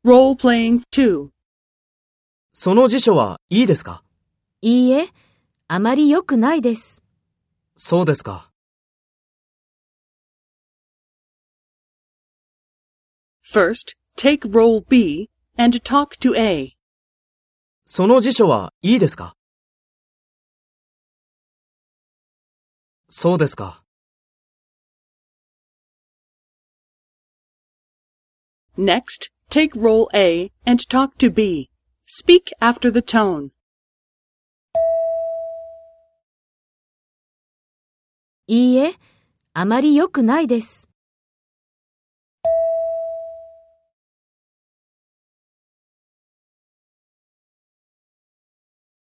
Role-playing 2. その辞書はいいですか？ いいえ、あまり良くないです。 そうですか。 First, take role B and talk to A. その辞書はいいですか？そうですか。 Next, take role A and talk to B. Speak after the tone. いいえ、あまり良くないです。